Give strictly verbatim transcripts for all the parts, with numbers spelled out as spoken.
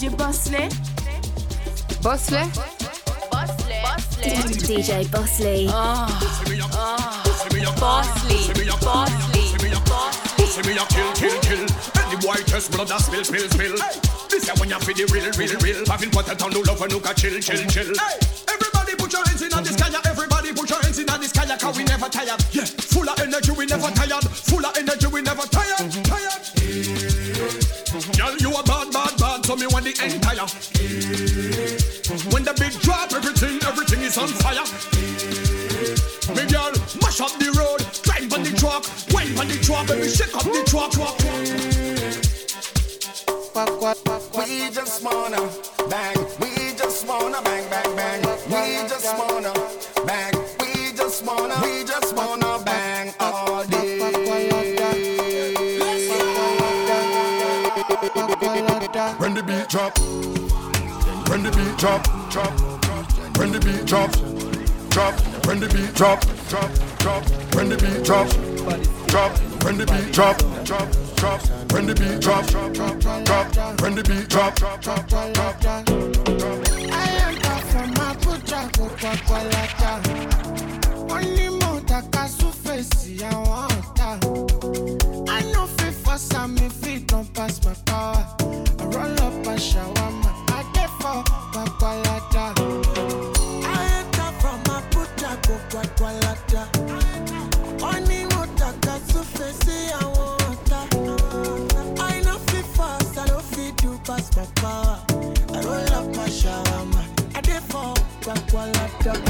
J Bosley. Bosley? Bosley. Bosley. D J Bosley. Oh. Oh. Bosley. Bosley. See me a kill, kill, kill. Any boy test blood that spill, spill, spill. This is when you feel the real, real, real. Having put it on the love and look at chill, chill, chill. Everybody put your hands in the sky. Everybody put your hands in the sky. Cause we never tired. Yeah, full of energy, we never tired. Full of energy, we never tired. Tired. Girl, you a bad, bad, bad. So me want the entire. When the beat drop, everything, everything is on fire. Me girl, mash up the road, climb on the truck, wine on the truck, baby, shake up the truck. We just wanna bang, we just wanna bang, bang, bang. We just wanna bang, we just wanna, we just wanna bang all day. When the beat drop, when the beat drop, drop, when the beat drop, drop, when the beat drop, drop, drop, when the beat drop, drop, when the beat drop, drop, drop, when the beat drop, drop, drop, when the beat drop, drop, drop, drop. I enter from my putra, Coca-Cola. Only motor casu face, I want that. I know fit for some, if it don't pass my power. I roll up a shawarma, I get for Coca-Cola. I enter from my putra, Coca-Cola. Only motor casu face, I want that. I know fit fast, I don't fit to pass my power. I roll up my shawarma, I get for Coca-Cola.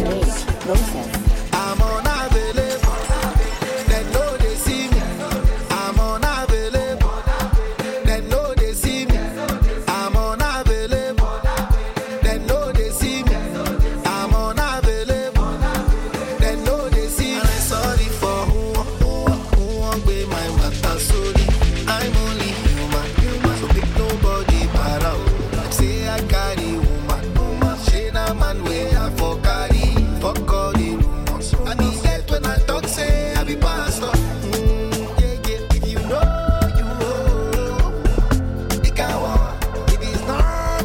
I'm unavailable, they know they see me. I'm unavailable, they know they see me. I'm unavailable, they know they see me. I'm unavailable, they know they see me. And I'm sorry for who, who, who won't be my matter. Sorry, I'm only human, so pick nobody para. Like say I carry woman, woman. She na man way I for carry, fuck all the rumors. I be get when I talk say I be pastor. Mm, yeah, yeah. If you know, you know. It can walk. If it's not,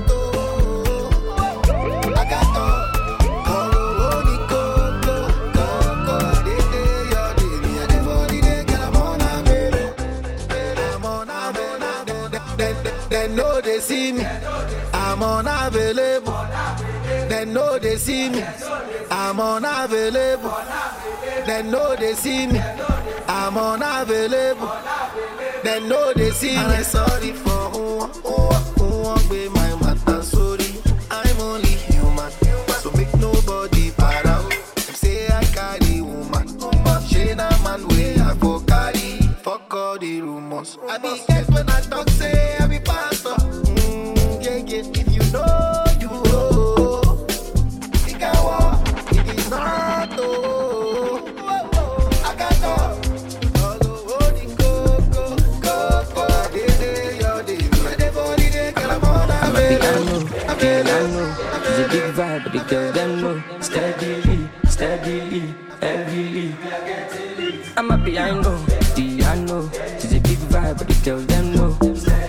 oh, I got to. Oh, oh, go, go, go, go. They day, your day, me and the body they get I'm on a baby. I'm on a baby. They, they, they know they see me. I'm unavailable. They know they see me. I'm unavailable. They know they see me. I'm unavailable. They know they see me. And I'm sorry for who, who, who won't be my matter. Sorry, I'm only human, so make nobody para. Say I carry woman, she na man way I for carry. Fuck all the rumors. I be get when I talk say I be pastor. Mm, yeah, yeah. If you know, you know. It can walk. It is not oh. I got to. All the holding go, go, go, go. Day, day, your day. The body they get I'm on a baby. I know, girl, I know. It's a big vibe, but the girl them know. Steadily, steadily, heavily. I'm happy, I know. The I know. It's a big vibe, but the girl them know.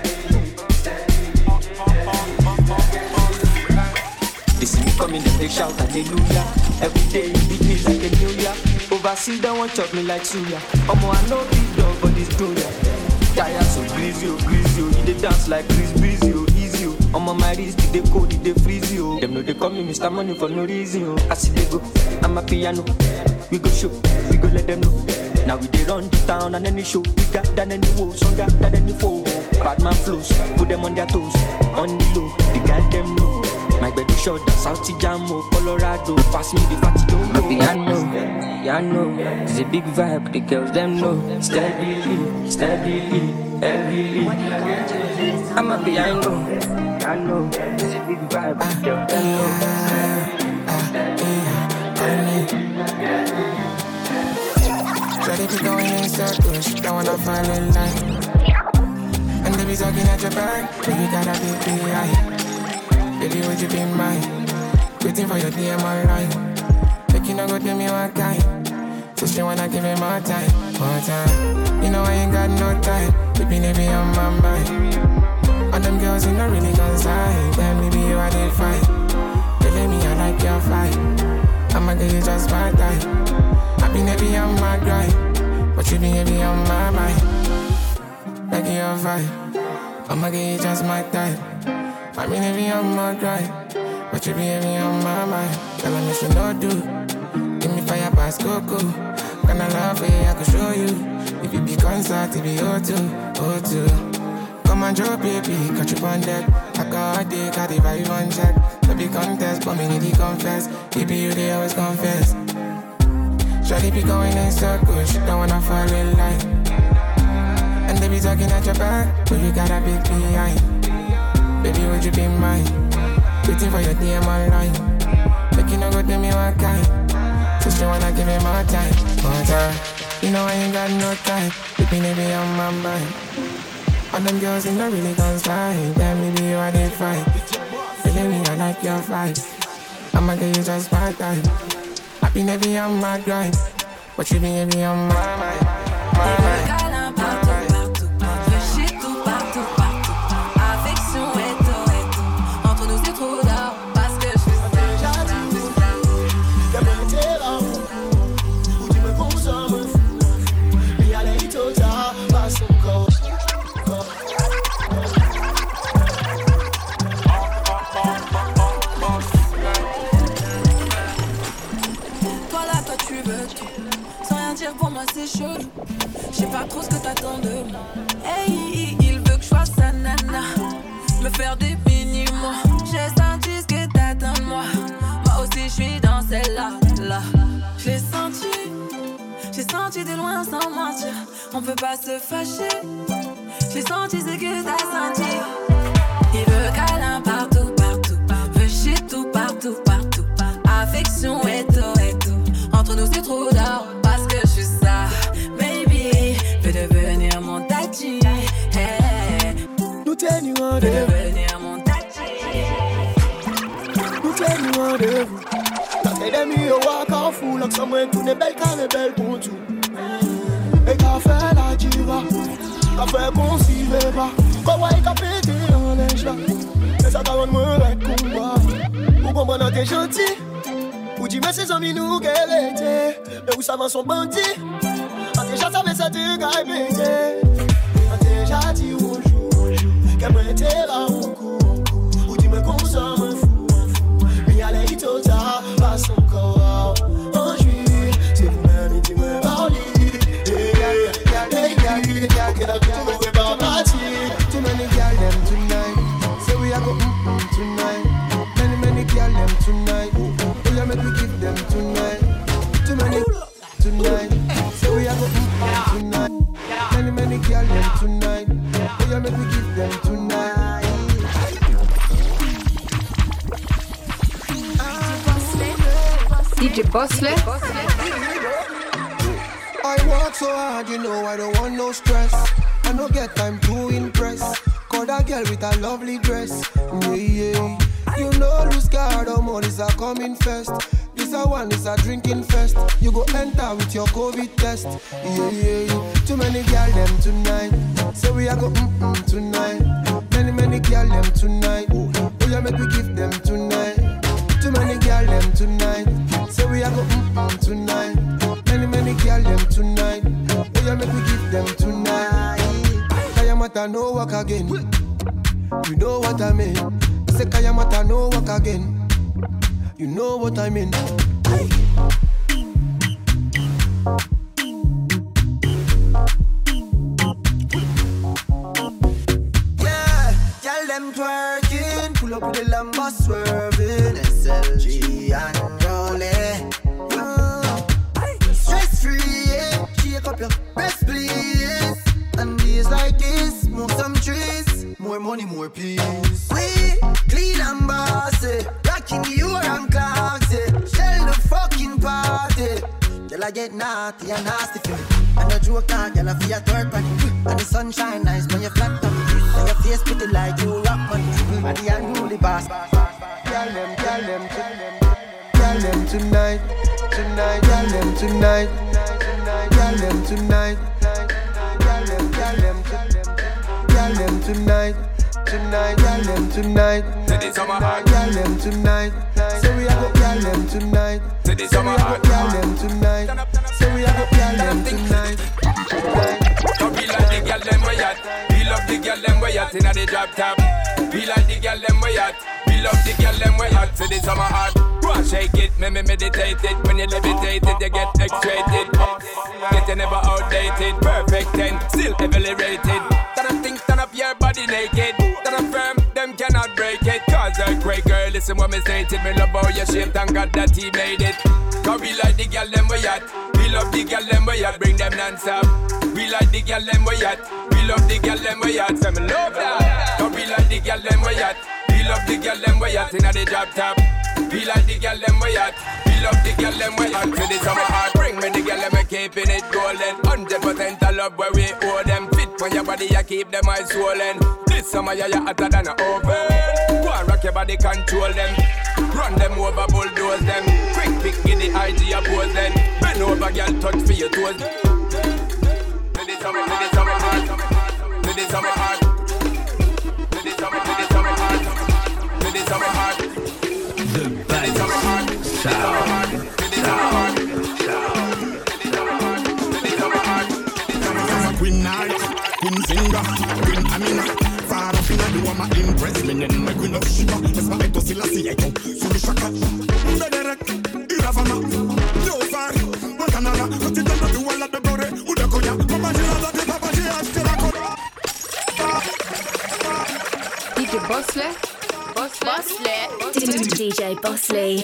They see me coming, then they shout hallelujah. Every day it beat me like a new year. Overseas they won't chop me like suya. Omo I know big dog, but this doya. Tired so greasy, oh greasy, oh. They dance like Chris Breezy, oh easy, oh. I'm on my wrist, they cold, they freeze, oh. Them know they call me Mister Money for no reason, oh. I see they go, I'm a piano. We go show, we go let them know. Now we they run the town and any show. We got than any woe, stronger than any foe. Bad man flows, put them on their toes. On the low, they got them know. My baby short, South Jamo, Colorado. Pass me the fatty don't know. Piano, piano. It's a big vibe, the girls them know. Steadily, steadily, heavily. I'm a piano, piano. It's a big vibe, the girls them know. Ready to go in circles, don't wanna fall in line. And they be talking at your back, but you got a big big eye. Baby, would you be mine? Waiting for your D M online. Make you no go to me one time. So she wanna give me more time, more time. You know I ain't got no time. Keeping it on my mind. On the them girls in the really concern. Tell me be you I did fight. Telling me I like your fight. I'ma get you just my type. I been heavy on my grind, but you been heavy on my mind. Like your vibe, I'ma get you just my type. I been heavy on my grind, but you been heavy on my mind. Tell me she no do. Give me fire past Coco. Can I love it? I can show you. If you be concert, it be O two, O two. Come and drop baby, catch you on deck. I got a dick, I the vibe on check. No be contest, but me need to confess. Baby, you they always confess. Shawty be going in circles, she don't wanna fall in line. And they be talking at your back, but you got a big behind. Baby, would you be mine? Waiting for your D M online. Make you no go tell me what kind. So she wanna give me more time, more time. You know I ain't got no time. Baby, they be on my mind. All them girls in the really concern. Tell me be you I did fight. Feeling me I like your fight. I'ma get you just my time. I been heavy on my grind, but you been heavy on my mind. My mind. Câlin partout, partout. Je chie tout partout, partout. Affection et tout, et tout. Entre nous c'est trop d'or, parce que je suis déjà dit. Y'a bien été là où tu me consommes. Mais y'a les hits pas son corps. Pour moi c'est chelou, je sais pas trop ce que t'attends de moi. Hey, il veut que je fasse sa nana, me faire des mini-mois. J'ai senti ce que t'attends de moi. Moi aussi je suis dans celle-là, là. Je l'ai senti, j'ai senti de loin sans mentir. On peut pas se fâcher, j'ai senti ce que t'as senti. Il veut câlin partout, partout, veut chier tout partout, partout. Affection et tout, et tout. Entre nous c'est trop d'or. Tell you what they Nous tell you what they La tête de mi au walk en fou. Like someone to the belle carré belle pour tout. Et qu'a fait la diva, qu'a fait qu'on s'y va pas. Quoi ouais qu'a pété en neige là. Et ça t'a rendu avec combat. Ou comprendre t'es gentil. Ou dis mais ses amis nous qu'elle était. Mais où ça va son bandit. A déjà savait ça te gagne pété. A déjà dit bonjour. Qu'elle me était là au cou, ou tu me consommes un fou, un fou. Mais y'a les hits tard, pas son corps. En juillet, c'est vous-même qui me parlez. Hey, hey, hey, hey, ok, la vie, tu me pas partir. Too many girl them tonight. Say we are go mm-mm tonight. Many, many girl them tonight. Oh, yeah, make we give them tonight. Too many tonight. Say we are go mm-mm tonight. Many, many girl them tonight. Oh, yeah, make we give them tonight. D J Bosley. I work so hard, you know I don't want no stress. I don't get time to impress. Call that girl with a lovely dress. Yeah, yeah. You know, lose guard, or more is a coming first. This a one is a drinking fest. You go enter with your COVID test. Yeah, yeah, yeah. Too many girl them tonight. So we a go mm-mm tonight. Many, many girl them tonight. Oh, yeah, make we give them tonight. Too many girl them tonight. So we a go mm-mm tonight. Many, many girl them tonight. Oh, yeah, make we give them tonight. Kayamata no walk again. You know what I mean. Say Kayamata no walk again. You know what I mean. Yeah, tell them twerking. Pull up with the Lambo swerving. S L G and rolling. Uh, stress free, yeah. Shake up your breast, please. And days like this, smoke some trees. More money, more peace. We clean and bossy. Rocking you and classy. Shell the fucking party. Girl, I get naughty and nasty for me. And the joke now, girl, I feel a third party. And the sunshine nice when you flat on me. And your face pretty like you rock money. And the unruly boss. Girl them, girl them, girl them tonight, tonight, girl them tonight, tonight, girl them tonight, girl them, girl them, girl them tonight, tonight, girl them tonight. Say this summer hot, girl them tonight. Say we a go girl them tonight. Say this summer hot, girl them tonight. Say we a go girl them tonight. Don't be like the girl them way at. We love the girl them way at inna the drop top. We like the girl them way at. We love the girl them way at. Say this summer hot. Go and shake it, me me meditate it. When you levitate it, you get X-rated. Get you never outdated. Perfect ten, still heavily rated. That I think turn up your body naked. That I'm firm, them cannot break it. Cause earthquake girl, listen what me stated. Me love how you shaped and God that he made it. Cause we like the girl them way at. We love the girl them way at. Bring them non-stop. We like the girl them way at. We love the girl them way at. So me love that. Cause we like the girl them way at. We love the girl them way at inna the drop top. We like the girl them way at. We love the girl them way at. To the summer heart, bring me the girl them we keeping it golden. Hundred percent of love where we owe them. Fit when your body you keep them eyes swollen. This summer yeah you hotter than a oven. Go and rock your body, control them. Run them over, bulldoze them. Quick pick, get the I G pose then. Bend over, girl, touch for your toes. To the summer, to the summer heart. To the summer heart. To the summer, to the summer heart. To the summer heart. The best sound. Sound. Queen Naya, Queen Zinga, Queen Amina. Far up in a do my impress me and my Queen of Shiva. That's my eto Selassie eto. Suli Shaka, Bederek, Iravana, Jofar, Makanala. Cut it down to all of the glory. Udakoya, Papa Jela, the Papa Jela, Jela. D J Bosley, Bosley, D J Bosley.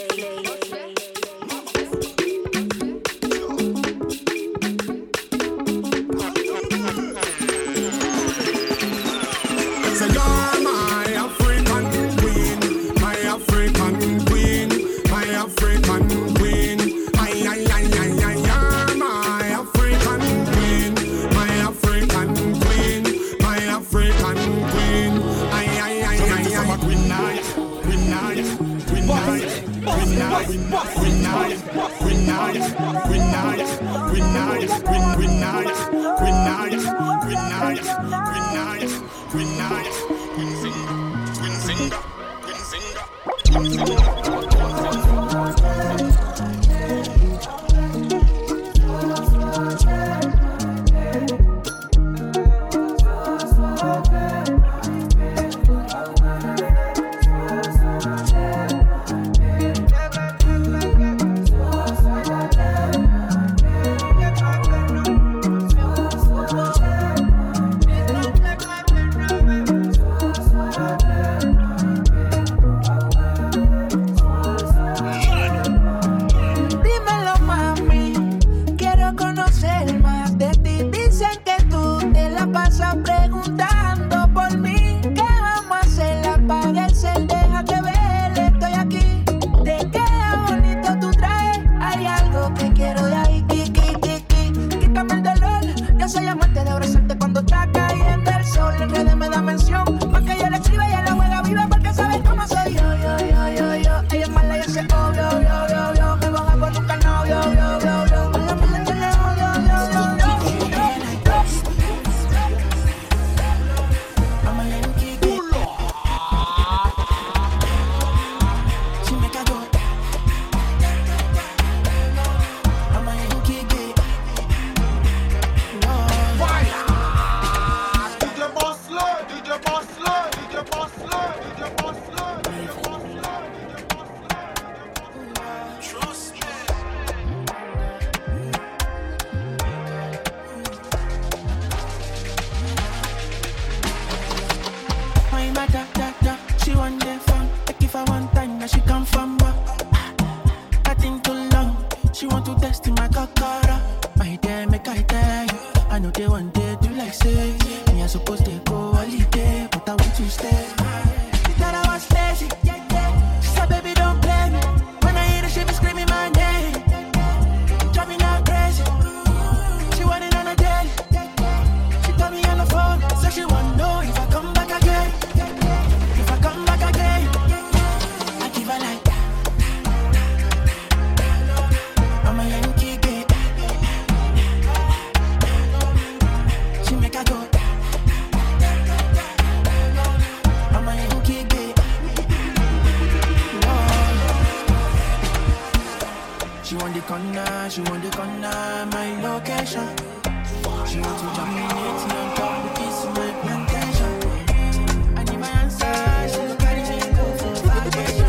to dominate on top of this my plantation. And if I answer, she'll carry me go for vacation.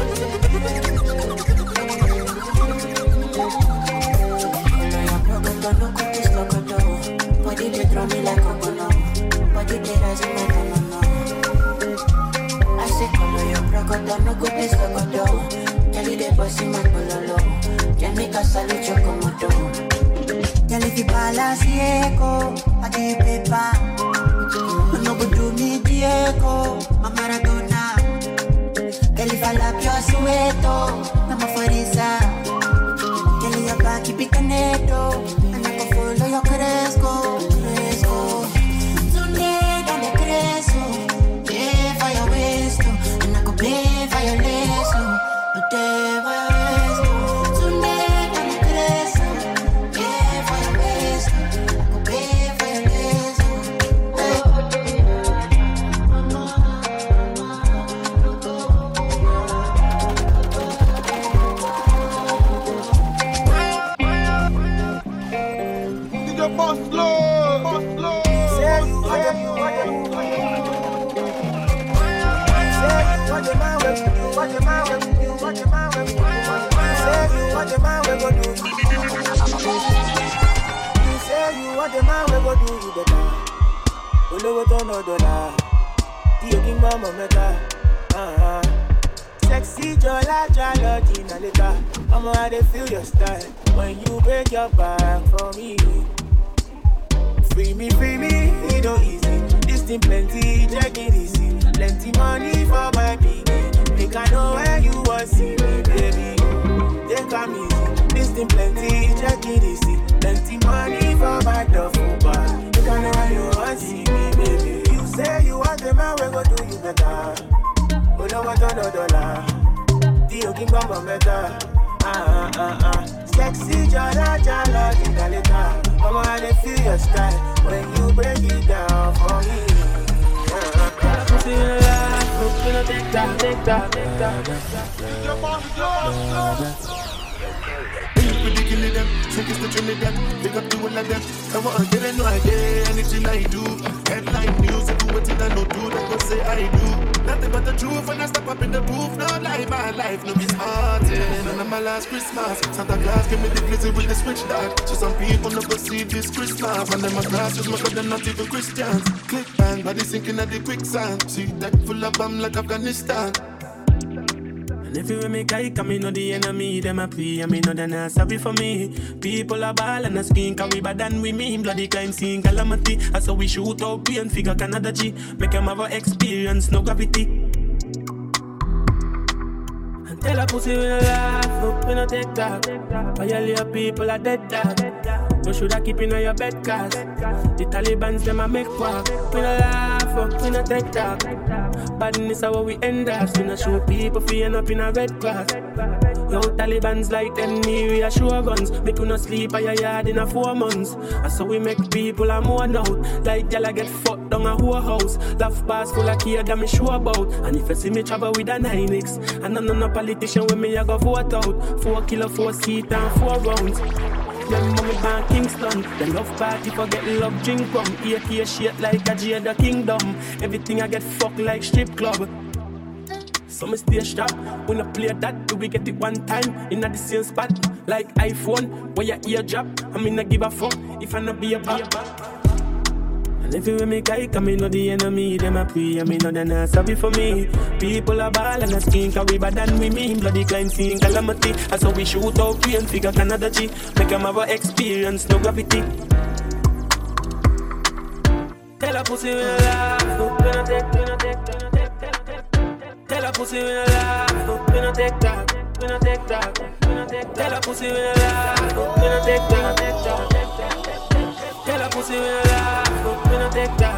No cookies, no condo. Body they draw me like a bono. Body they rise in my banana. I say color your brocado, no cookies, no condo. Tell you they bossy my pololo. Tell me salute your komodo. Tell if you balance echo, I get paper. No go do me Diego, my Maradona. Tell if I lap your sueto, I'm a forisa. Tell you back, keep it caneto. Follow your Cresco, Cresco. Today, down the Cresco. Pay for your waist, and I go pay for your lace. Pay for your waist. Today, down the Cresco. Pay for your waist, I go pay for your lace. Boss Lord, Boss Lord. Say you what the what the man will do, what the man will do, what the man will do. Say you what the man will do. You say you what the man will do, you better. Olowo to no dollar, the king mama mega. Ah, sexy jola jola Gina later. I'ma how they feel your style when you break your back for me. Free me, free me, it don't easy. This thing plenty, check it easy. Plenty money for my baby. Make I know where you want see me, baby. Take come easy. This thing plenty, check it easy. Plenty money for my duffel bag. Make I know where you want see me, baby. You say you want the man, we go do you better. We don't want no dollar. Dio King Bamba better. Ah ah ah. Sexy jala jala dingaleta. Mama, I dey feel your style when you break it down for me. Pussy in the life, look in the take that, take that, take that. Your boss, your boss. Killing them, take us to Trinidad, pick up the one of them. I want to get a no idea, anything I do. Headline news, I do what I don't do, that's what say I do. Nothing but the truth, and I step up in the booth. No lie, my life, no be smarting. And on my last Christmas, Santa Claus gave me the glizzy with the switch dart. So some people never see this Christmas. And then my glasses, my God, they're not even Christians. Click bang, body sinking at the quicksand. See that full of bomb like Afghanistan. If you make I come in, know the enemy, them a pray, I mean, know they're not sorry for me. People are ball and a skin, cause we bad than we mean. Bloody crime scene, calamity. That's how we shoot out pain, figure Canada G. Make them have a experience, no gravity. And tell a pussy we no laugh, no, we no take that. Violate people are dead dog. You shoulda keep in your bed, cause the Taliban's them a make walk. We no laugh, we no take that. Badness is how we end up. We no show people feeling up in a red grass. Yo, Taliban's like them near we a show guns. Make you no sleep at your yard in a four months. And so we make people a mourn out. Like y'all get fucked down a whole house. Laugh bars full of kids that me sure about. And if you see me travel with a nine X, and I'm not no politician with me I go vote out. Four kilo, four seat and four rounds. Them mommy born Kingston. The love party forget love drink rum. A K shit like a Jada Kingdom. Everything I get fucked like strip club. So me stay sharp. When I play that, do we get it one time in the same spot? Like iPhone, where your ear drop. I mean I give a fuck if I not be a back. And if you make I come in, know the enemy, them a pray, I mean, know they're not sorry for me. People are ball and a skin, cause we bad than we mean. Bloody crime scene, calamity. That's how we shoot out pain, figure Canada G. Make them have a experience, no gravity. Tell a pussy we no laugh, no, we no take, we no take, we no take, tell a pussy we no laugh, no, we no take that, we no take that, we no take, tell a pussy we no laugh, no, we no take that, take that, take that. Tell a pussy we no laugh, but we no take that.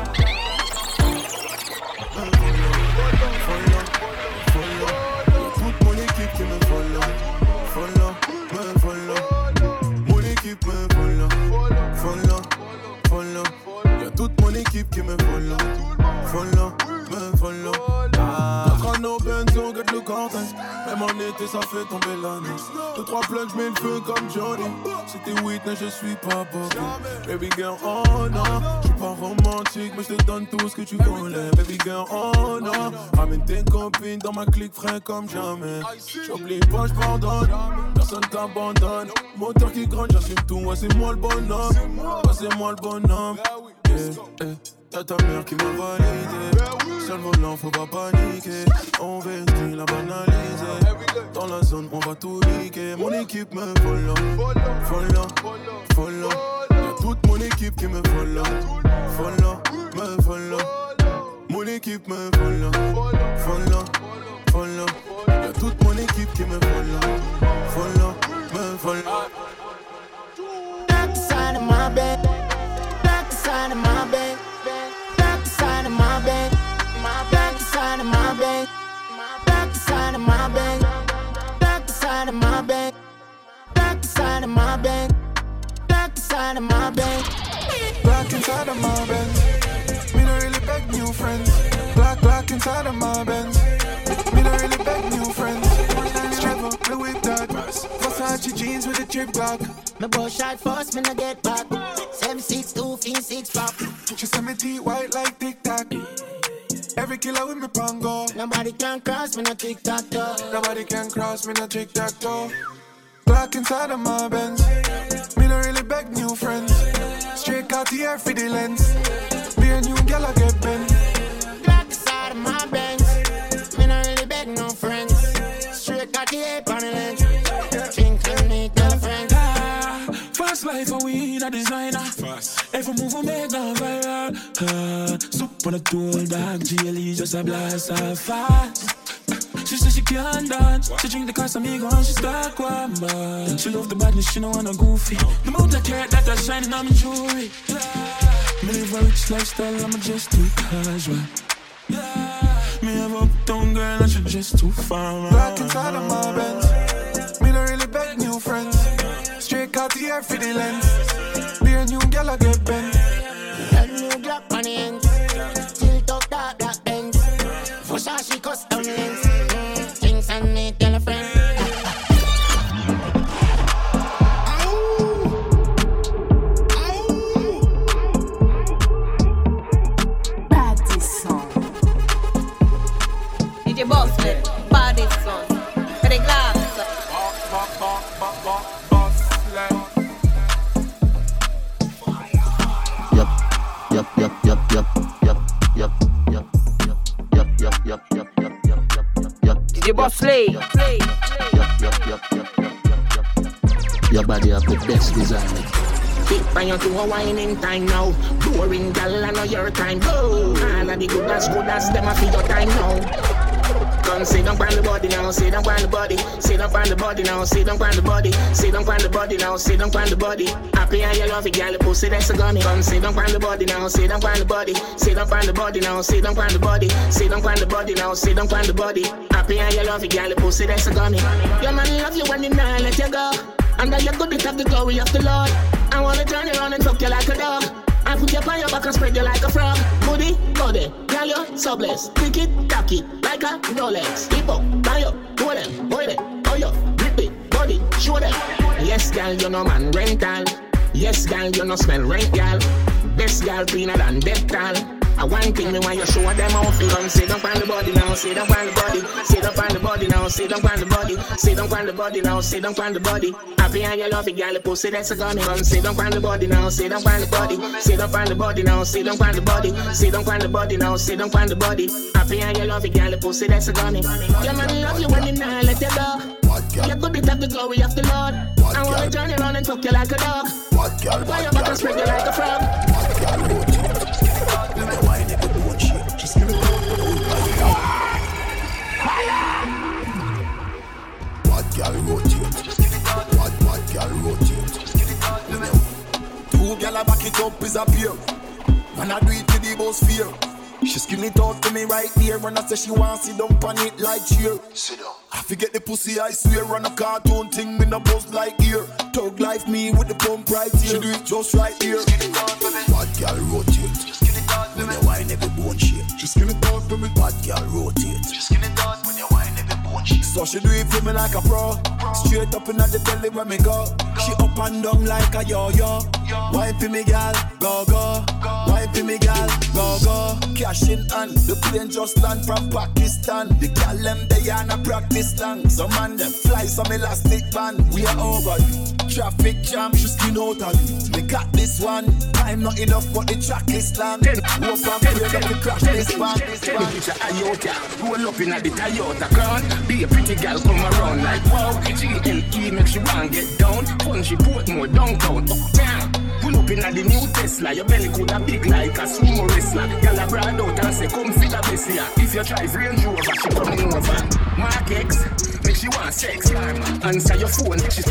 Follow, follow, good money keep me follow, follow, me follow. Money keep me follow, follow, follow. Your good money keep me follow, follow, me follow. Ah, quand nos bennes sont get le content, mais money arrêter, ça fait tomber la neige. Deux, trois plugs, j'mets le feu comme Johnny. C'était Whitney, je suis pas Bobby. Baby girl, oh non, j'suis pas romantique, mais j'te donne tout ce que tu voulais. Baby girl, oh non, ramène tes copines dans ma clique frais comme jamais. J'oublie pas, j'pardonne, personne t'abandonne. Moteur qui gronde, j'assume tout, ouais c'est moi le bonhomme. Ouais c'est moi le bonhomme. Yeah, yeah. Y'a ta mère qui m'a validé. Sur le volant, faut pas paniquer. On vestit la banaliser. Dans la zone, on va tout niquer. Mon équipe me follow, follow, follow. Y'a toute mon équipe qui me follow, follow, me follow. Mon équipe me follow, follow, follow. Y'a toute mon équipe qui me follow, follow, me follow. Back side of my bed, back side of my bed. Side of my bed, my back side of my bed, my back side of my bed, back side of my bed, back side of my bed, back side of my bed, black inside of my Benz. Me no really beg new friends. Black black inside of my Benz. Me no really beg new friends. Stripper, Louis Vuitton, Versace jeans with a drip block. Me bust shot first, me no get back. Seven six two, fin six flop. She send me teeth white like Tic Tac. Every killer with me pango. Nobody can cross me no tic tac toe. Nobody can cross me no tic tac toe. Black inside of my Benz. Me no really beg new friends. Straight Cartier for the lens. Be a new girl I get bent. Black side of my Benz. Me no really beg no friends. Straight Cartier for the lens. Think and make no friends. Fast life and we a designer. Fast. Every move we make go viral. Uh, soup on a tool dog. G L E just a blast off fast. She said she can't dance. She drink the Casamigo and she start quamba. She love the badness, she don't wanna goofy. The amount of carrot that are shining on my jewelry. Me live a rich lifestyle, I'm just too casual. Me have a uptown girl and she just too far. Black inside of my Benz. Me don't really beg new friends. Straight Cartier for the lens. Be a new girl I get bent. A new Glock on the ends. Still talk that black ends. Versace custom lens. Things and me tell a friend. Body song. D J Bosslet, body song. For the glass. Yup, yup, yup, yup, yup, yup, yup, yup, yup, yup, yup, yup, yup, yup, yup, yup. D J Bosslet. Yup, yup, yup, yup, yup, yup, yup, yup. Your body have the best design. Keep on to a whining time now. Boring gal, I know your time. Go. All of the good as good as them a feel your time now. Come sit down on the body now, sit down on the body, sit down on the body now, sit down on the body, sit down on the body now, sit down on the body. Happy and you love it, girl, pussy that's a gummy. Come sit down on the body now, sit down on the body, sit down on the body now, sit down on the body, sit down on the body now, sit down on the body. Happy and you love it, girl, pussy that's a gummy. Your man love you when he not let you go. Under your good bit have the glory of the Lord. I wanna turn you around and fuck you like a dog. I put you on your back and spread you like a frog. Booty, body, girl, you're so blessed. Pick it, cock it, like a Rolex. Keep up, buy up, do them, boy them, oh yo, grip it, body, show them. Yes, girl, you know man rental. Yes, girl, you know smell rent, girl. Best girl cleaner than Dettol. I one thing me when you show them how feel. Come sit down on the body now, sit down on the body, sit down on the body now, sit down on the body, sit down on the body now, sit down on the body. Happy and you love it, girl, pussy that's a gun. Come sit down on the body now, sit down on the body, sit down on the body now, sit down on the body, sit down on the body now, sit down on the body. Happy and you love it, girl, pussy that's a gun. Your man love you when he not let you go. You could be have the glory of the Lord. I wanna turn you around and fuck you like a dog. Why you back and spread you like a frog? Bad girl rotate. Bad, bad girl rotate. Two girl a back it up is a pair. And I do it to the boss fear. She skin it out to me right there. And I say she want sit down on it like cheer. Sit down. I forget the pussy I swear. On a cartoon thing me no buzz like ear. Thug life me with the pump right here. She do it just right here. Bad girl rotate. When you whine every bone shake. She skin it out for me. Bad girl rotate. She skin it out when you whine every bone shake. So but she do it for me like a pro. Straight up in the belly where me go. She up and down like a yo-yo. Wine for me gal, go go. Wine for me gal, go go. Cash in hand, the plane just land from Pakistan. The gal them they on a practice land. Some man them fly some elastic band. We are over you. Traffic jam, she skin out of you. We got this one. Time not enough but the track is long. Hope and pray that we crash this band. Take a picture of Toyota. Roll up in the Toyota crown. Be a pretty girl come around like wow. G L E make she want get down. Punchy Portmore downtown. Uptown. Pull up in the new Tesla. Your belly could have big like a sumo wrestler. Girl a brand out and say come fit a best here. If you drive Range Rover, she coming over. Mark X, make she want sex. Answer your phone, she's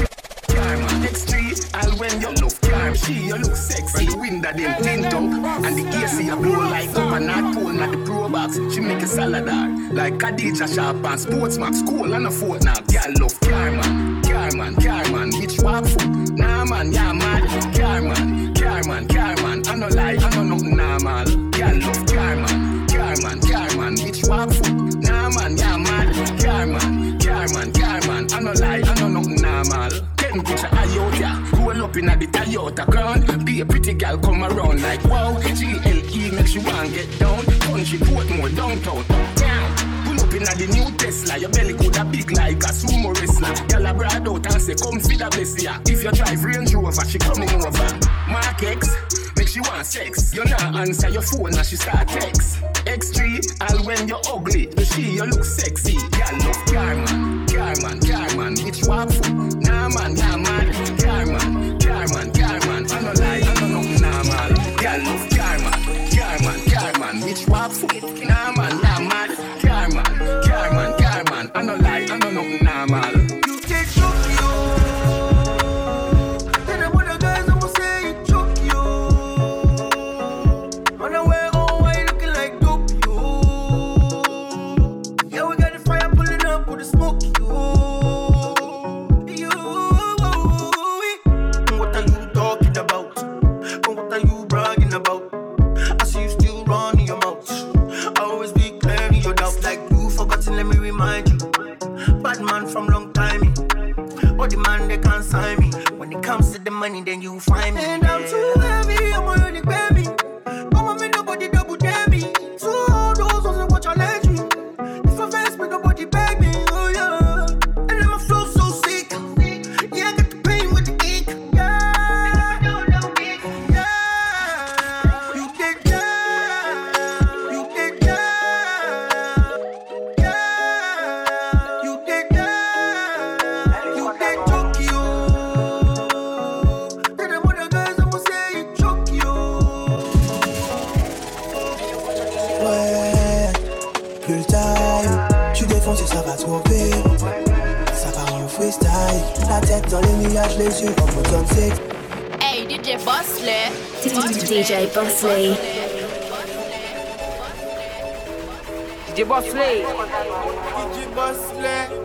X three, all when you look calm, she you look sexy. The window them tint up, and the A C a blow like up and not pull at the pro box. She make a saladar, like Khadija Sharp and Sports Max, cool and a fortnight. Girl love Carman, Carman, Carman, hitch walk foot. Nah man, yeah man, Carman, Carman, Carman. I no lie, I know nothing normal. Girl love Carman, Carman, Carman, hitch walk foot. Nah man, yeah man, Carman, Carman, Carman. I no lie, I know nothing normal. Picture Toyota, roll up in the Toyota crown. Be a pretty girl come around like wow. G L E makes you want get down. Punchy Portmore downtown, down. Pull up in the new Tesla. Your belly could have big like a sumo wrestler. Girl a brand out and say come see the best here. If you drive Range Rover, she coming over. Mark X, make she want sex. You not answer your phone and she start text. X three, all when you're ugly. The she you look sexy. Girl love Carman, Carman, Carman. Which walk foot? Nah man, yeah man. Carman, Carman, Carman. I no lie, I no nothing normal. Girl love Carman, Carman, Carman. Which walk foot? Nah man, yeah man. Carman, Carman, Carman. I no lie, I no nothing normal. You take Tokyo. Then I'm one of the guys who say you Tokyo. On the way home, why you looking like Tokyo? Yeah, we got the fire pulling up with the smoke, you. You. What are you talking about? What are you bragging about? I see you still running your mouth. Always be clearing your doubts like you forgotten. Let me remind you. Bad man from long time. But the man they can't sign me. When it comes to the money, then you find me. And I'm too heavy, I'm already baby. Come on, me nobody double dare me. So all those ones watch I let you. If I face me, nobody beg me. Oh yeah. And then my flow so sick. Yeah, I got the pain with the ink. Yeah. Yeah. You did yeah. You did yeah. Yeah. You did yeah. You did Tokyo. Then I'm one of the guys who say you Tokyo. Ouais, plus le time, tu défonces et ça va trop vite. Ça part en freestyle, la tête dans les nuages, les yeux en mode zone six. Hey, D J Bosley. D J Bosley. D J Bosley. D J Bosley.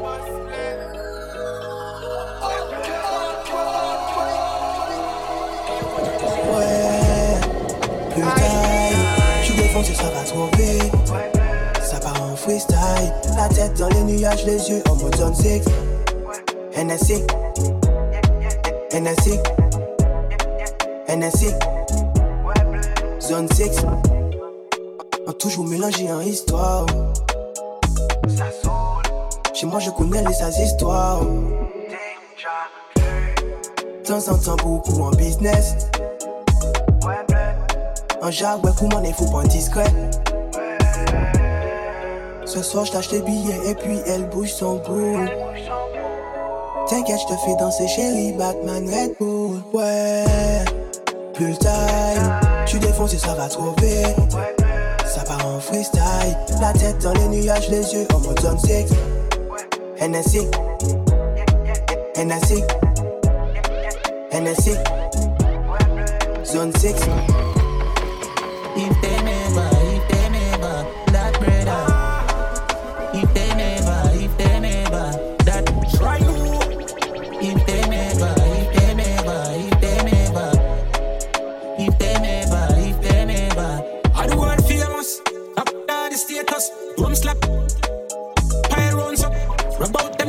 Ouais, plus le time, tu défonces et ça va trop vite. Ça part en freestyle, la tête dans les nuages, les yeux en mode zone six. N S C, N S C, N S C, zone six. On toujours mélangé en histoire. Chez moi je connais les sales histoires. De temps en temps beaucoup en business. Un jarre, ouais, comment il faut pas discret. Ce soir je tâche les billets et puis elle bouge son boule. T'inquiète, je te fais danser chérie, Batman Red Bull. Ouais, plus le time, tu défonces et ça va trop vite. Ça part en freestyle, la tête dans les nuages, les yeux en mode zone six. N S C, N S C, N S C, zone six. If they never, if they never, that brother. If they never, if they never, that try you. If they never, if they never, if they never, if they never, if they never. Are the world famous? Up there the status, drum slap, pile rounds up, rub out them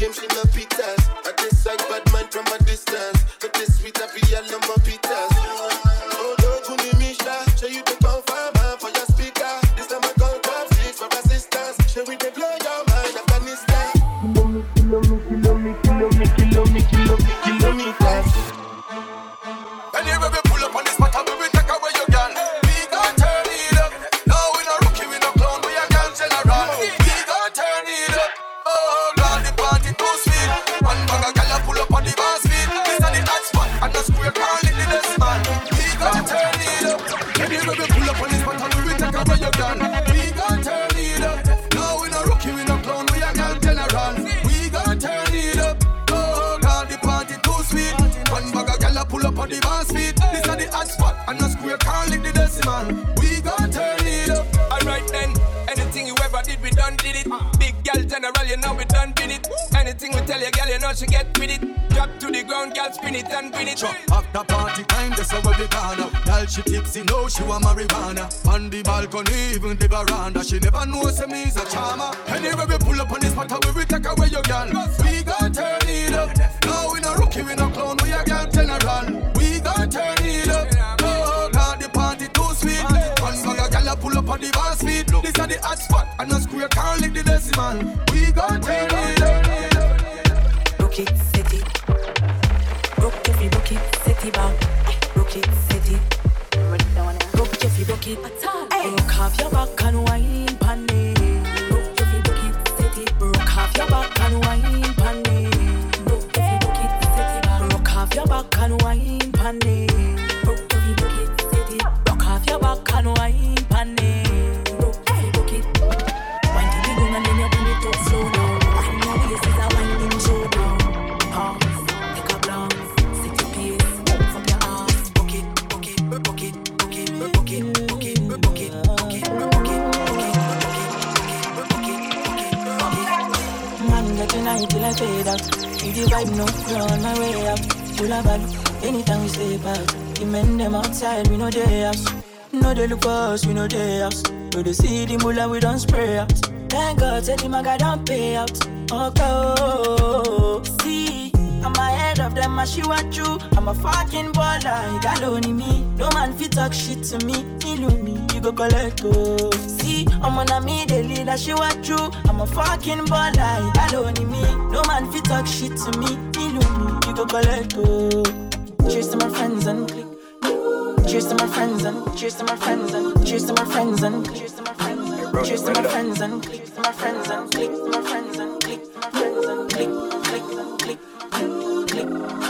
game, she no pitas. I decide bad man from a distance. But this sweet, I feel all of my pitas. Oh, don't you need me, Sha? Show you the confirm for your speaker. This time I come top six for assistance. Show we the blow your mind, Afghanistan. Kilo me, kilo me, kilo me, kilo me, kilo me, kilometers. Anyway, we pull up on this spot, we take away your gun. We gon' turn it up. No, we no rookie, we no clown, we a gun general. We gon' turn it up. Oh, God, the party too sweet. One bag of gala pull up on the bar speed. This is the hot spot, and the square call it the decimal. We gon' turn it up. Anyway, we pull up on this spot, we take away your gun. We gon' turn it up. No, we no rookie, we no clown, we a gun general. We gon' turn it up. Oh, God, the party too sweet. One bag of gala pull up on the bar speed. This is the hot spot, and the square call it the decimal. We gon' turn it up. Alright then, anything you ever did, we done did it. Big gal general, you know we done did it. Anything we tell your gal, you know she get with it. Drop to the ground, gal, spin it and pin it. Sure. After party time, that's how we gonna. Gal, she tipsy, know she want marijuana. On the balcony, even the veranda, she never knows me is a charmer. Anyway, we pull up on this spot, we will take away your gal. We gon' turn it up. No, we no rookie, we no clown, we a gal general. We gon' turn it up. Oh, God, the party too sweet. One bag of gal pull up on the bar speed. This is the hot spot, and the square can't lick the decimal. We gon' turn it up. Rock it, set it. Rock if you rock it, set it back. Rock it, set it. Rock if you rock it. Rock off your back and wine pan it. Rock if you rock it, set it. Rock off your back and wine pan it. Rock if you rock it, set it back. Rock off your back and wine pan it. Rock if you rock it, set it. Rock off your back and wine pan it. Rock if you rock it. Wine to the ground and then you bring it up slow down. Wine your waist is a winding showdown. Pause, take a glance, set your pace, from your ass. Rock it, rock it, rock it, rock it, rock it, rock it, rock it, rock it, rock it, rock it, rock it, rock it, rock it. Man, get tonight till I fade out. If the vibe no flow on my way up. Full of bad, anytime we step out. The men them outside, we know they house. No they look for us, we know they house. We they see the mullah, we don't spray out. Thank God, tell him I got don't pay out. Okay, oh, see, I'm ahead of them, I she want you. I'm a fucking baller, you got only me. No man fit talk shit to me. You me, you go collect, oh. See, I'm on a me, the leader, she want you. I'm a fucking baller, you got only me. No man fit talk shit to me. You me, you go collect, oh. Cheers to my friends and click. Cheers to my friends and cheers to my friends and cheers to my friends and cheers to my friends and cheers to my friends and click to my friends and click to my friends and click to my friends and click click click click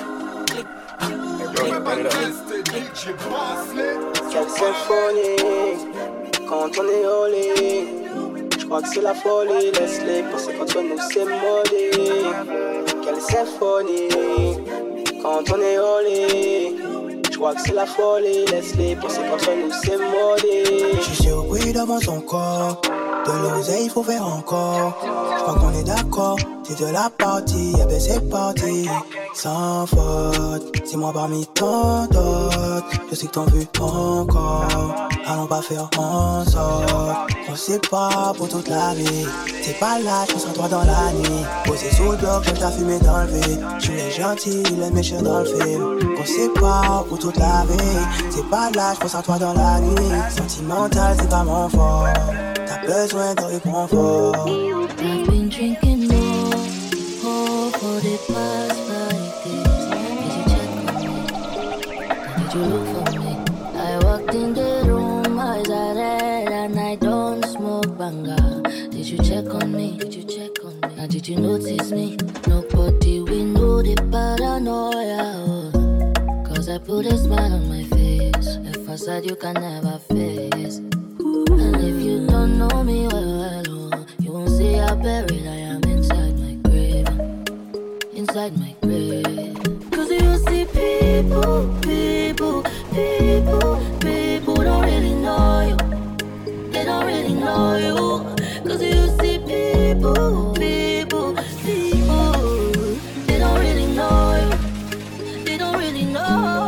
click click. Quelle symphonie quand on est au lit. Je crois que c'est la folie. Laisse-les penser qu'entre nous c'est maudit. Quelle symphonie quand on est au lit. Je crois que c'est la folie, laisse-les penser qu'entre nous c'est maudit. Je suis au bruit devant son corps. De l'oseille, faut faire encore. Je crois qu'on est d'accord, c'est de la partie. Eh ben c'est parti, sans faute. C'est moi parmi tant d'autres. Je sais que t'en veux encore. Allons pas faire en sorte. On sait pas pour toute la vie. C'est pas là, je pense en toi dans la nuit. Posé sous le bloc, je t'ai fumé dans le vide. Je suis les gentils, les méchants dans le film. On sait pas pour toute la vie. C'est pas là, je pense en toi dans la nuit. Sentimental, c'est pas mon fort. T'as besoin de réconfort. I've been drinking more, more for the past five days. Did you check on me? Did you look for me? I walked in the room, eyes are red, and I don't smoke banga. Did you check on me? Did you check on me? Now did you notice me? Nobody will know the paranoia. Oh. Cause I put a smile on my face, a facade you can never face. And if you don't know me well, well, oh, you won't see how buried I am inside my grave. Inside my grave. Cause you see people, people, people, people don't really know you. They don't really know you. Cause you see people, people, people, they don't really know you. They don't really know.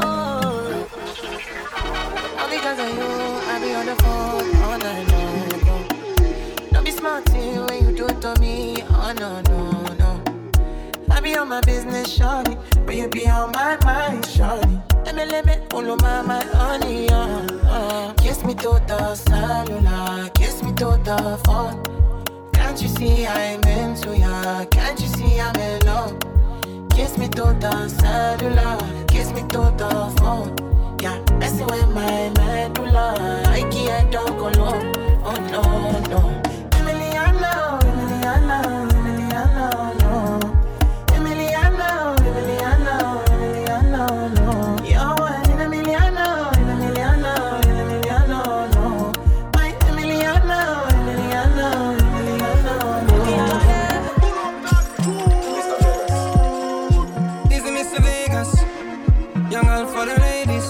All because of you, I be on the phone all night long. Don't be smart when you do it to me. Oh no, no, no. be on my business, shawty, but you be on my mind, shawty. Let me, let me, all my, my honey, uh, uh. Kiss me to the cellular, kiss me to the phone. Can't you see I'm into ya? Can't you see I'm in love? Kiss me to the cellular, kiss me to the phone. Yeah, messing with my medulla, I can't don't go low. Oh no, no. Emiliano, Emiliano, Emiliano, no. Emiliano, Emiliano, Emiliano, no. You're one in a Emiliano, Emiliano, Emiliano, no. My Emiliano, Emiliano, Emiliano, no. This is Mister Vegas, young girl for the ladies.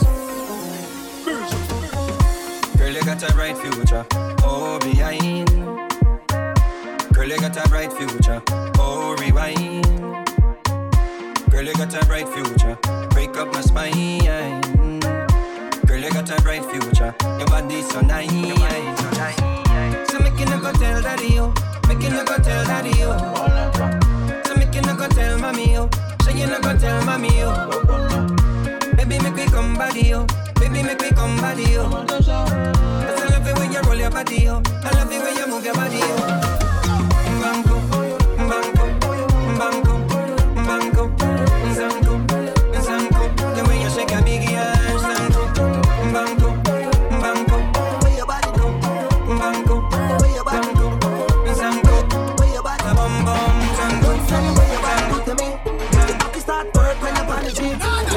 Girl, you got a bright future, oh behind. Girl, you got a bright future, oh rewind. Girl, you got a bright future, break up my spine. Girl, you got a bright future, your body's so nice. So make you no go tell daddy, oh, make you no go tell daddy, oh. So make you no go tell mommy, oh, so you no go tell mommy, oh. Baby, make me come body, oh. Baby, make me come body, oh. Cause I love it when you roll your body, oh. I love it when you move your body, oh. Banco, banco, banco, banco, zanco, zanco. The way you shake a big ass, zanco, banco, banco. Where your body go? Banco, where your body go? Zanco, where your body? Bum bum, zanco, zanco. Where your body go to me? The cocky start work when you're on the gym.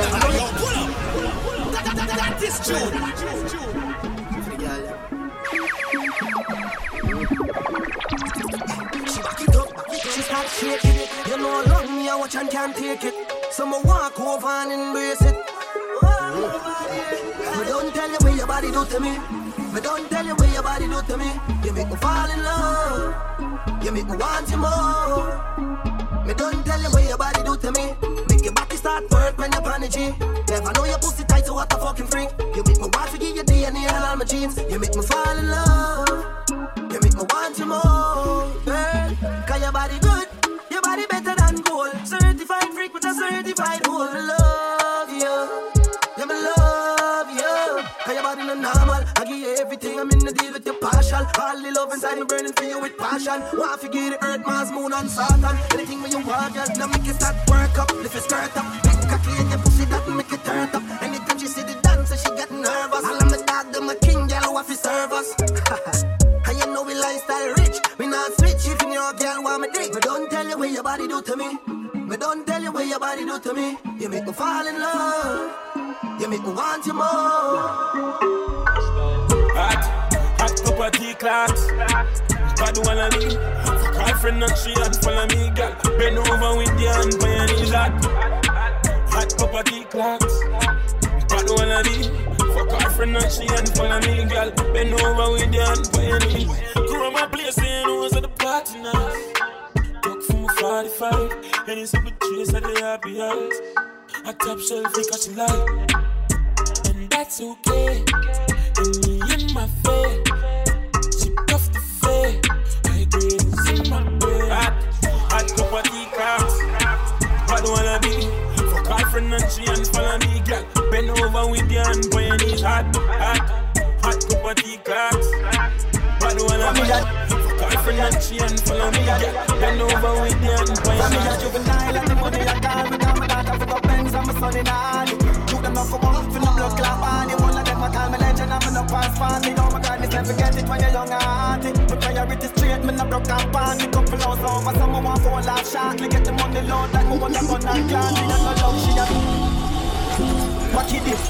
That is true. She start shaking it. You know love me, I watch and can't take it. So I walk over and embrace it. Me don't tell you what your body do to me. Me don't tell you what your body do to me. You make me fall in love. You make me want you more. Me don't tell you what your body do to me. Make your body start work when you're on the G. Never know your pussy tight, so what a fucking freak. You make me want to give your D N A and all my genes. You make me fall in love. You make me want you more, girl. Cause your body good, your body better than gold. Certified freak with a certified hole. Me love you, yeah me love you. Cause your body no normal, I give you everything. I'm in the deal with your partial. All the love inside me burning for you with passion. Want to get the earth, Mars, moon and Saturn. Anything when you want, girl, now make it start work up. Lift your skirt up, make a clean your pussy that make it turn up. Anytime she see the dancer, she get nervous. All of my dog, them a king, girl, who have to serve us. And you know we lifestyle rich. We not switch if your girl want me dick. Me don't tell you what your body do to me. Me don't tell you what your body do to me. You make me fall in love. You make me want you more. Hot, hot cup of tea class. Bad one of me. Fuck her friend and she had follow me, girl. Bend over with your hand by your knees. Hot, hot cup of tea class. Bad one of me. Fuck her friend and she had follow me, girl. Bend over with your hand by your knees. Grow my place and who's at the party now. Talk from a forty-five. And it's up a trace of the happy eyes. I top shelf because she like. And that's okay. And me in my face. She cuff the face. I agree, it's in my bed. Hot, hot cup of tea cups. Bad wanna be. Fuck her friend and she and follow me, girl. Bend over with your hand by your knees. Hot, hot, hot cup of tea cups. Bad wanna be. Fuck her friend and she and follow me, girl. Bend over with your hand by your knees. I'm a juvenile and the money I got. Me got my daughter for the Benz and my son in Harley. Took them off for one, for the blood clot body. One of them I call me legend, I'm in a pass party. Oh my God, this never forget it when you're young and hearty. My priority straight, me not broke up party. Couple hours over, someone want for a laugh shortly. Get the money load like me want a gun and clan. She has no love, she has. What you did?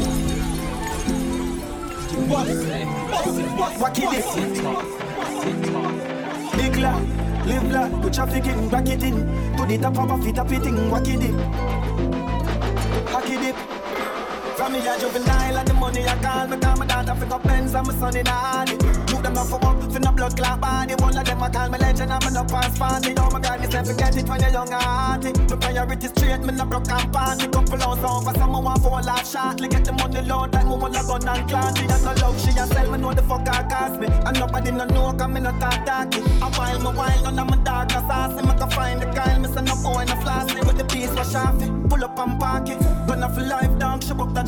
What? What you did? Big lad, live lad, put traffic in, back it in. To the top of a feet, up it in, what you did? Hack it dip. From me a juvenile and the money I call. Me call my daughter for the Benz and my son in Harley. Took them off for work, for the blood clot body. One of them I call me legend, I'm in a pass party. Oh my God, this never forget it when you're young and hearty. My priority straight, me not broke and party. Couple hours over, someone want for a laugh shortly. Get the money load like me want a gun and clan. She has no love, she has sell me know the fuck I cost me. And nobody no know, cause me not talk talky. A while, my while, none of my dog no saucy. Me can find the Kyle, me say no boy no flossy. With the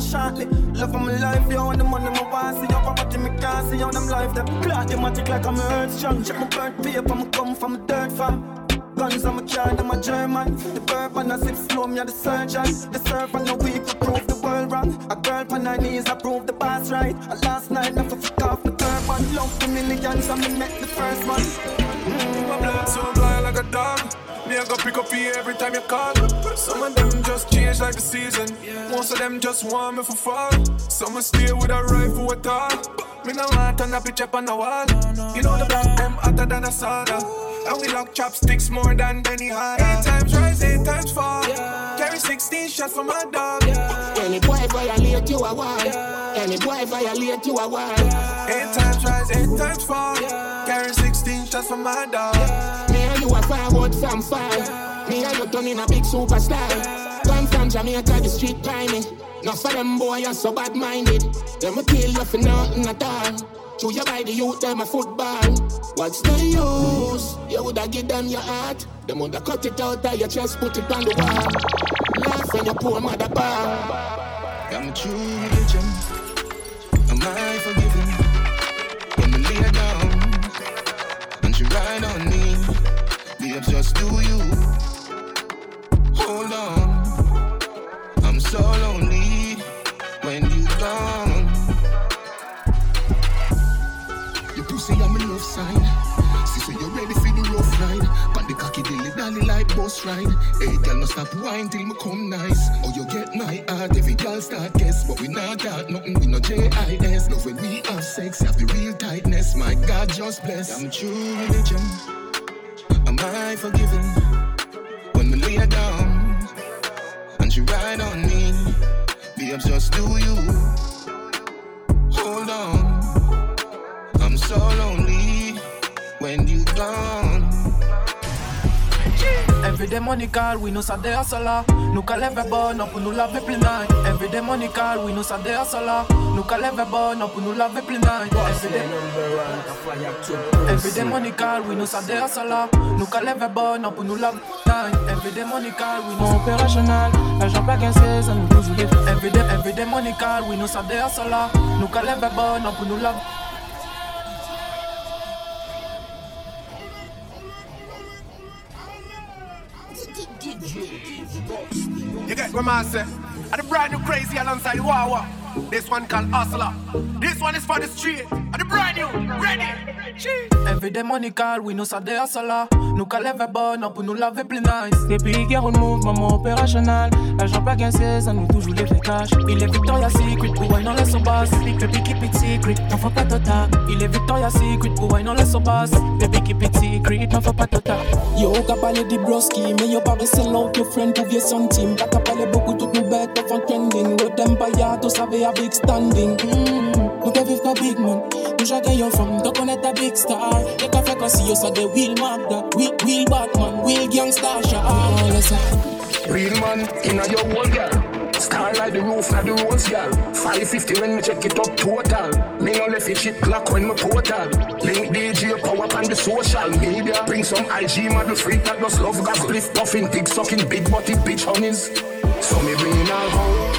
shortly. Love of my life, yo, and the money my want. See your property, me can't see on them life. Them clock, them a tick like I'm earth strong. Check my birth paper, me come from a dirt farm. Guns on my car, them a German. The bourbon, I sip slow, me a the surgeon. The servant, no week to prove the world wrong. A girl on her knees, I prove the boss right. And last night, never fuck off the turban. Love the millions, and me met the first one. Mm, my blood so blind like a dog. Me I go pick up you every time you call. Some of them just change like the season. Most of them just want me for fall. Some will stay with a rifle with all. Me no want turn a picture up on the wall. You know the black them hotter than a sauna. And we lock chopsticks more than Benny Hanna. Eight times rise, eight times fall. Carry sixteen shots for my dog. Any boy violate you a wall. Any boy violate you a wall. Eight times rise, eight times fall. Carry sixteen shots for my dog. Me and you a forward from far. Me and you turn in a big superstar. Come from Jamaica, the street climbing. Not for them boy, you're so bad-minded. Them a kill you for nothing at all. Chew you by the youth, them a football. What's the use? You woulda give them your heart. Them woulda cut it out of your chest, put it on the wall. Laugh when your poor mother ball. I'm a true religion. Am I forgiven? When we lay down and she ride on me, babes, just do you. Hold on. I'm so lonely when you gone. Your pussy on my love side. See, so you ready for the rough ride. Pan the cocky dilly dally like bus ride. Hey, girl, no stop wine till me come nice. Or you get my heart, every girl start guess. But we not that, nothing, we no J I S. Love when we have sex, have the real tightness. My God, just bless. I'm true religion. Am I forgiven? When we lay down and she ride on me, babes, just do you. Hold on. I'm so lonely when you gone. Every day money call, we know Sunday hustler. Nous qu'à lever bon, non pour nous laver plein night. Every day money call, we know Sunday hustler. Nous qu'à lever bon, non pour nous laver plein night. Every day, every day money call, we know Sunday hustler. Nous qu'à lever bon, non pour nous laver night. Every day money call, we know opérationnel. L'argent pas quinze, ça nous toujours les. Every day, every day money call, we know Sunday hustler. Nous qu'à lever bon, non pour nous laver. You get what I say? And the brand new crazy alongside the Wawa. This one called Hustler. This one is for the street. And the brand new, ready. Every day money call, we know ça des hustler. Nous qu'à lever bon, non pour nous laver plein nice. Depuis hier on move, maman opérationnel. L'argent pas gagné, ça nous toujours les vrais cash. Il est Victoria's Secret, pour wine on laisse au basse. Baby keep it secret, n'en faut pas total. Il est Victoria's Secret, pour wine on laisse au basse. Baby keep it secret, n'en faut pas total. Yo, qu'a parlé de broski, mais yo pas sell out your friend pour vieux centime. Pas qu'a parlé beaucoup tout nous bête of un trending. Road empire, tout savait a big standing. Mm. Nous qu'à vivre comme big man. Nous chacun yon femme, donc on est a big star. Y'a qu'à faire comme si yo ça de Will Magda. Will, Will Batman, Will Gangsta, Shah. Real man, inna your whole girl. Star like the roof, not the rose girl. five fifty when me check it up total. Me no left it shit clock when me portal. Link D J power up on the social media. Bring some I G model freak that does love gas. Spliff puffing, dick sucking, big body bitch honeys. So me bring it all home.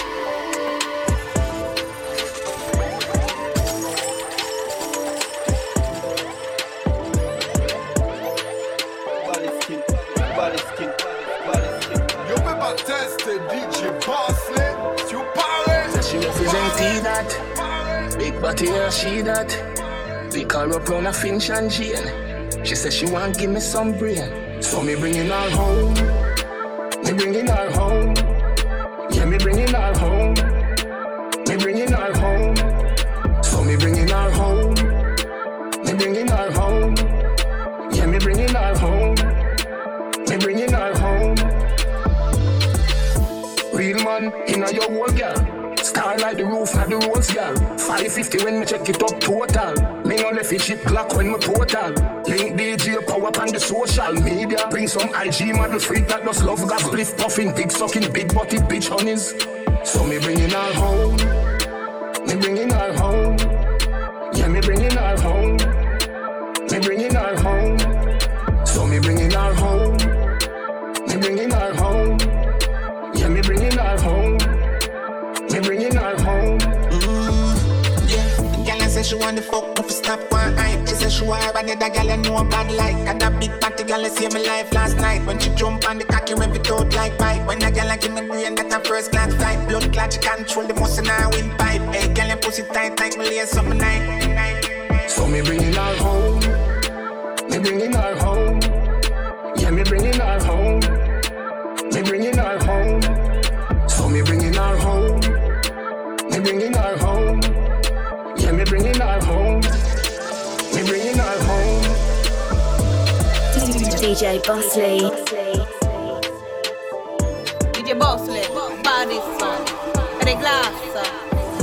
Big body, yeah, she that. We call her up on a Finch and Jane. She said she want give me some brain. So me bringing her home. Me bringing her home. Yeah, me bringing her home. Me bringing her home. So me bringing her home. Me bringing her home. Yeah, me bringing her home. Me bringing her home. Real man, inna your whole girl. Star like the roof, not the rose girl. five fifty when me check it up total. Me no left it shit clock when me portal. Link D J power up on the social media. Bring some I G model freak that does love gas. Spliff puffing, dick sucking, big body bitch honeys. So me bringing her home. Me bringing her home. Yeah, me bringing her home. Me bringing her home. So me bringing her home. Me bringing her home. Yeah, me bringing her home. Me bringing sure I need a girl you know bad like. And that big party girl you saved my life last night. When she jump on the cocky, rev it out like pipe. When a girl like give me brain, that a first class flight. Blood clot, she control the muscle in her windpipe. Hey, girl, you pussy tight like me lace up my night. So me bringing her home. Me bringing her home. Yeah, me bringing her home. Me bringing her home. So me bringing her home. Me bringing her home. Yeah, me bringing her home. Me bringing her home. D J Bosley. D J Bosley, body son, the glass son.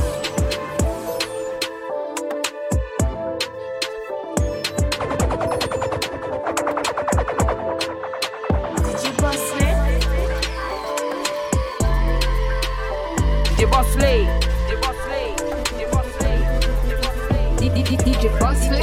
D J Bosley. D J Bosley. D J Bosley.